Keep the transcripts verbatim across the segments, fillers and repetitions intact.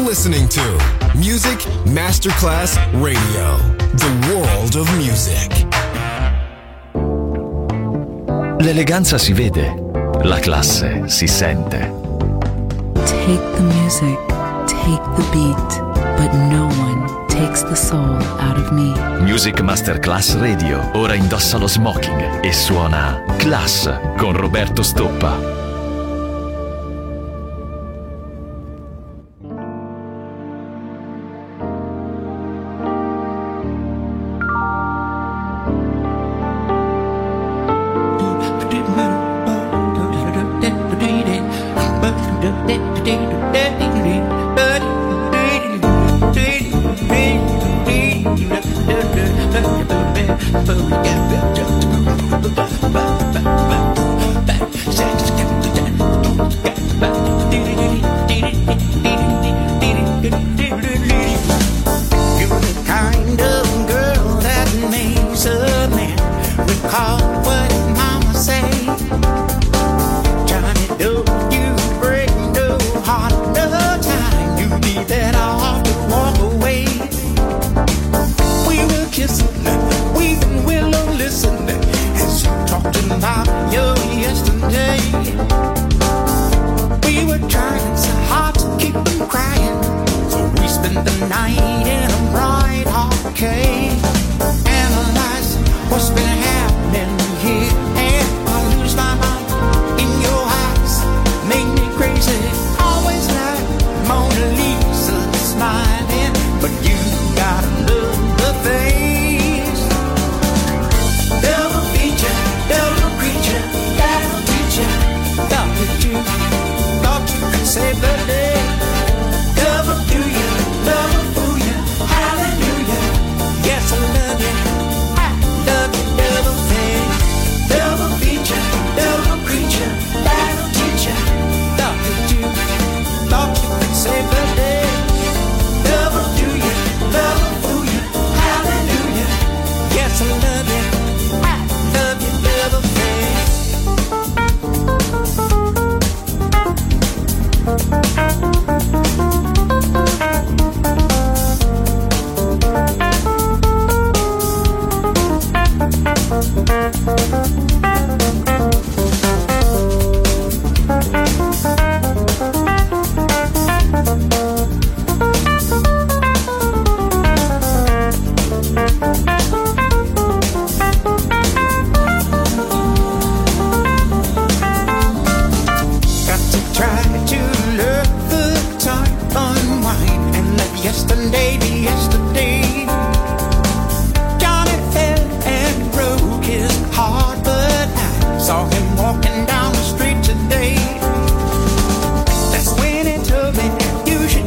listening to Music Masterclass Radio, the world of music. L'eleganza si vede, la classe si sente. Take the music, take the beat, but no one takes the soul out of me. Music Masterclass Radio ora indossa lo smoking e suona Class con Roberto Stoppa. Walking down the street today. That's when it told me you should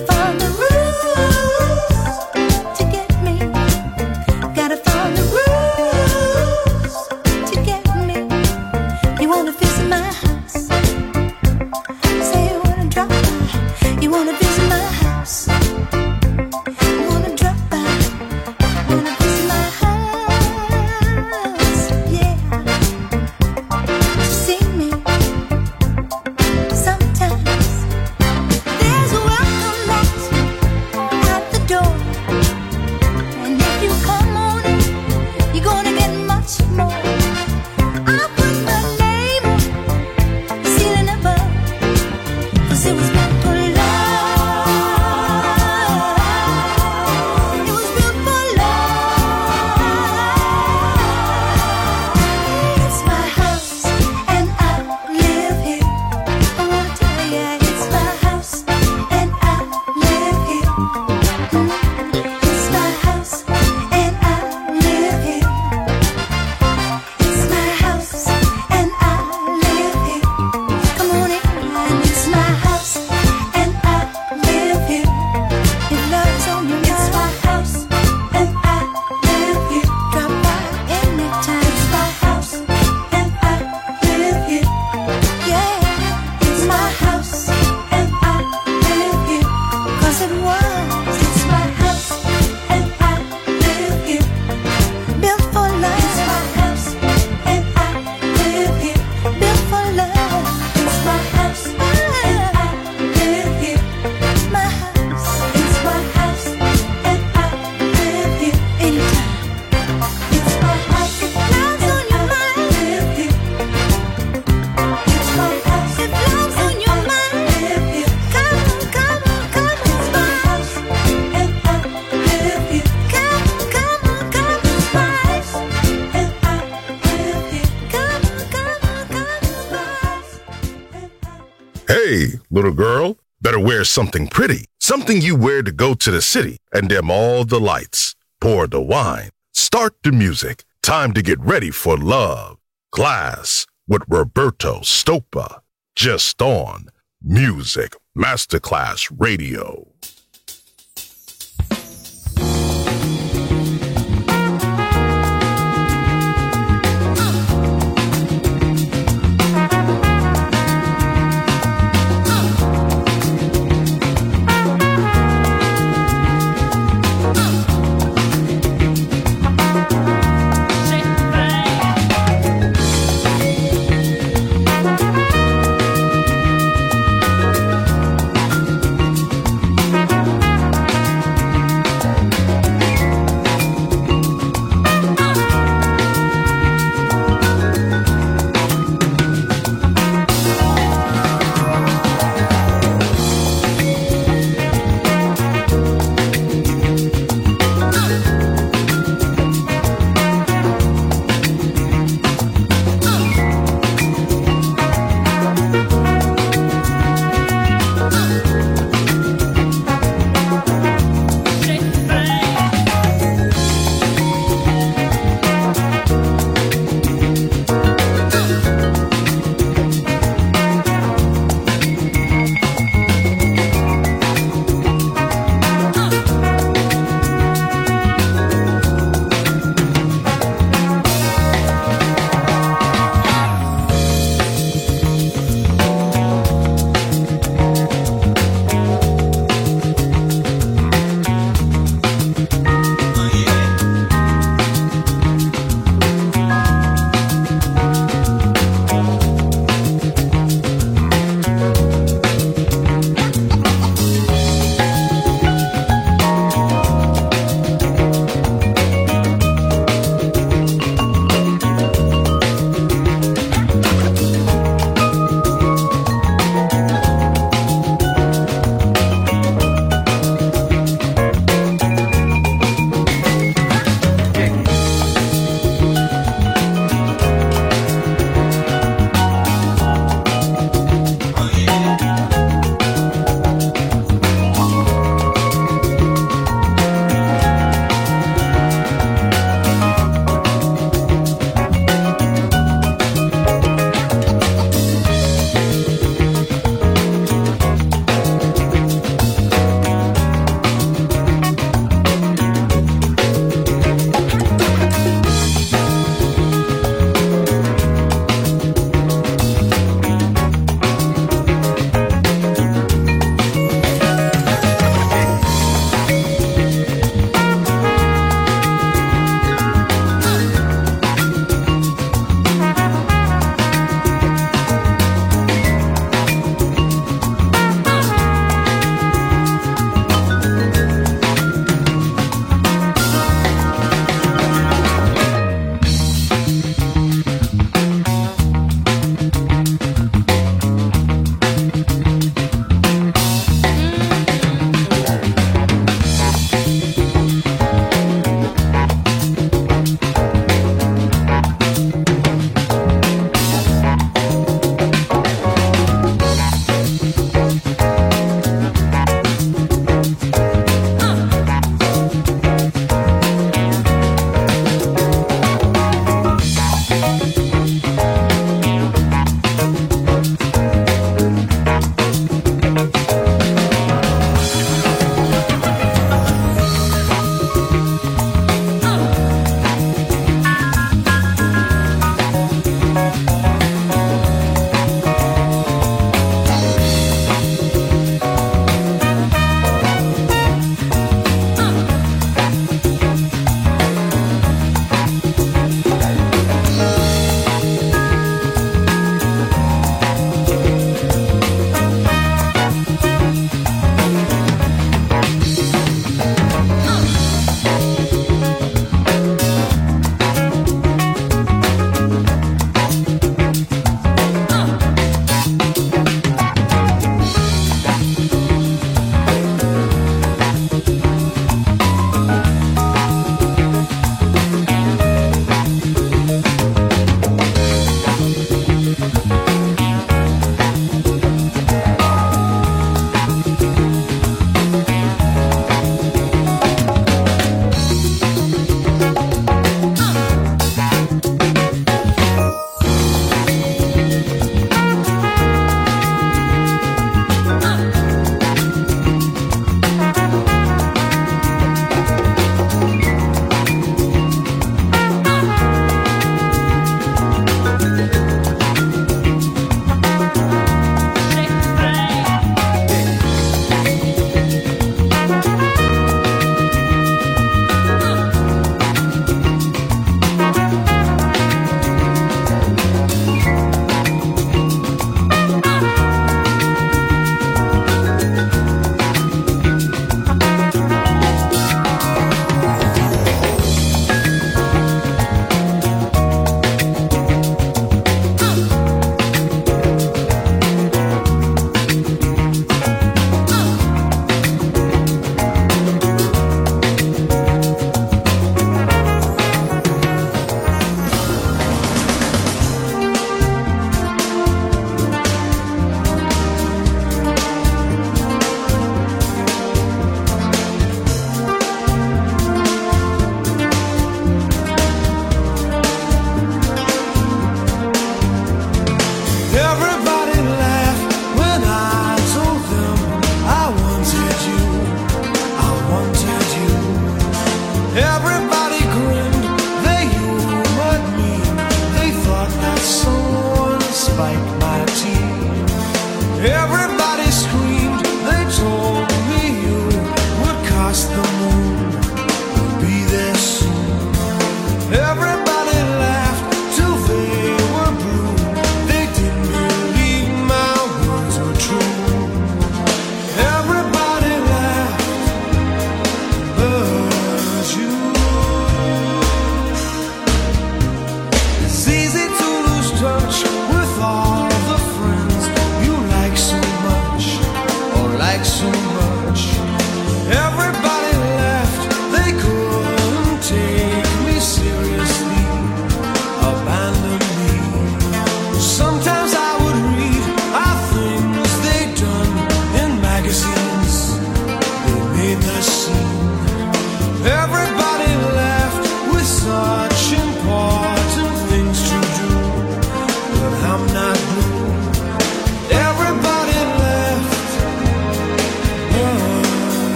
Hey, little girl, better wear something pretty, something you wear to go to the city, and dim all the lights. Pour the wine, start the music. Time to get ready for love. Class with Roberto Stoppa, just on Music Masterclass Radio.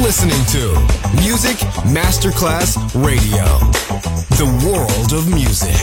listening to Music Masterclass Radio, the world of music.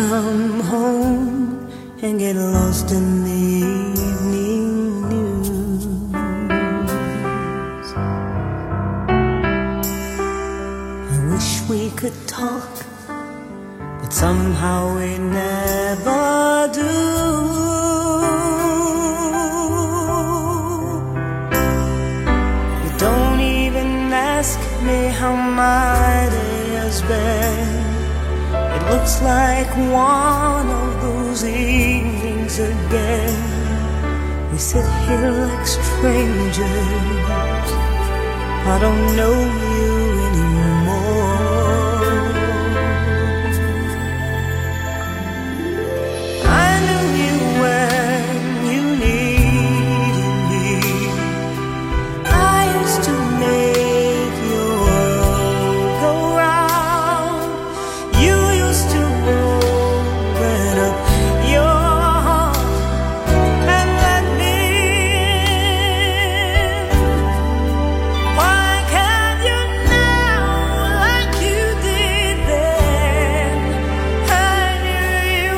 come home and get lost in the evening news. I wish we could talk, but somehow we never do. You don't even ask me how my day has been. It looks like one of those evenings again. We sit here like strangers. I don't know you anymore. I knew you when you needed me. I used to make your world go round. You used to open up your heart and let me in. Why can't you now like you did then? I knew you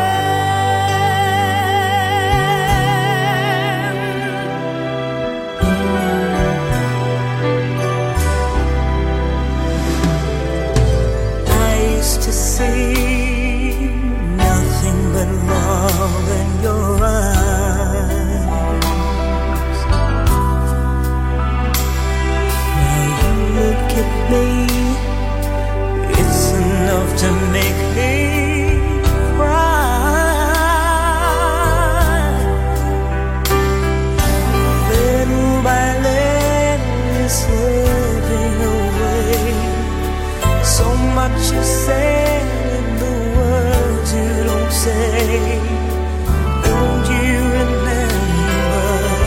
I used to see nothing but love in your eyes. Now you look at me, it's enough to make me cry. Little by little you're slipping away. So much you said in the words you don't say. Don't you remember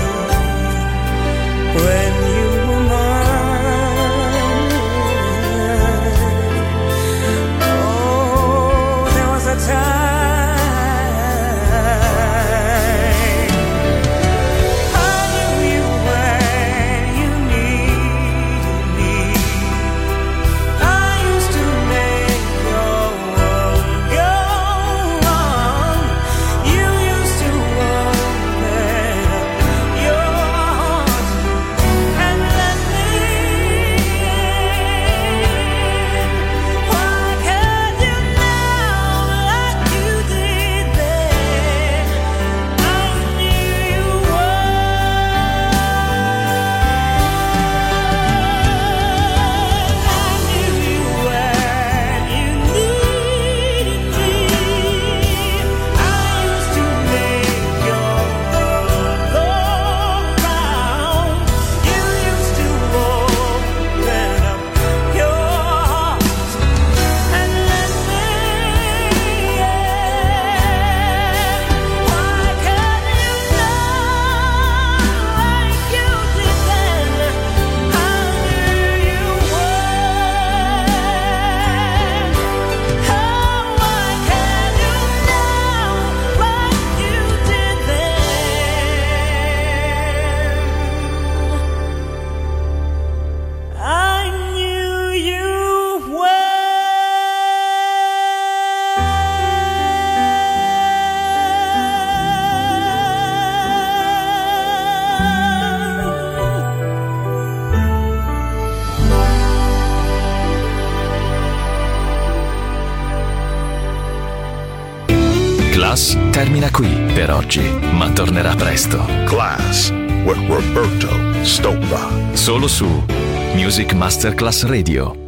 when you were mine? Oh, there was a time I knew you when you needed me. I used to make your world go on. You used to open up your heart and let me in. Why can't you now like you did then? I knew you I knew you when you needed me. I used to make your world go round. You used to open up your heart and let me in. Why can't you now like you did then? I knew you would. Oh, why can't you now like you did then? I knew you Class termina qui per oggi, ma tornerà presto. Class with Roberto Stoppa. Solo su Music Masterclass Radio.